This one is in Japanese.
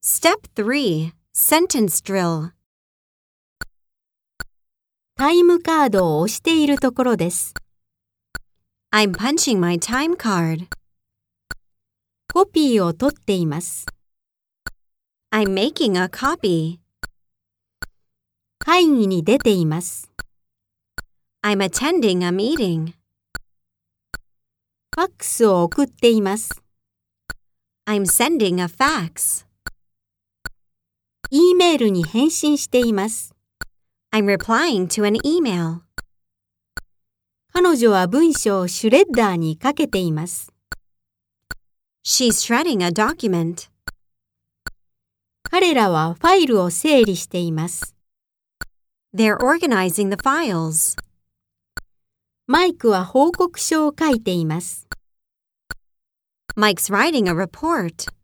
Step 3. Sentence Drill. タイムカードを押しているところです。 I'm punching my time card. コピーを取っています。 I'm making a copy. 会議に出ています。 I'm attending a meeting. ファックスを送っています。 I'm sending a fax. E メールに返信しています。 I'm replying to an email. 彼女は文章をシュレッダーにかけています。 She's shredding a document. 彼らはファイルを整理しています。 They're organizing the files. マイクは報告書を書いています。 Mike's writing a report.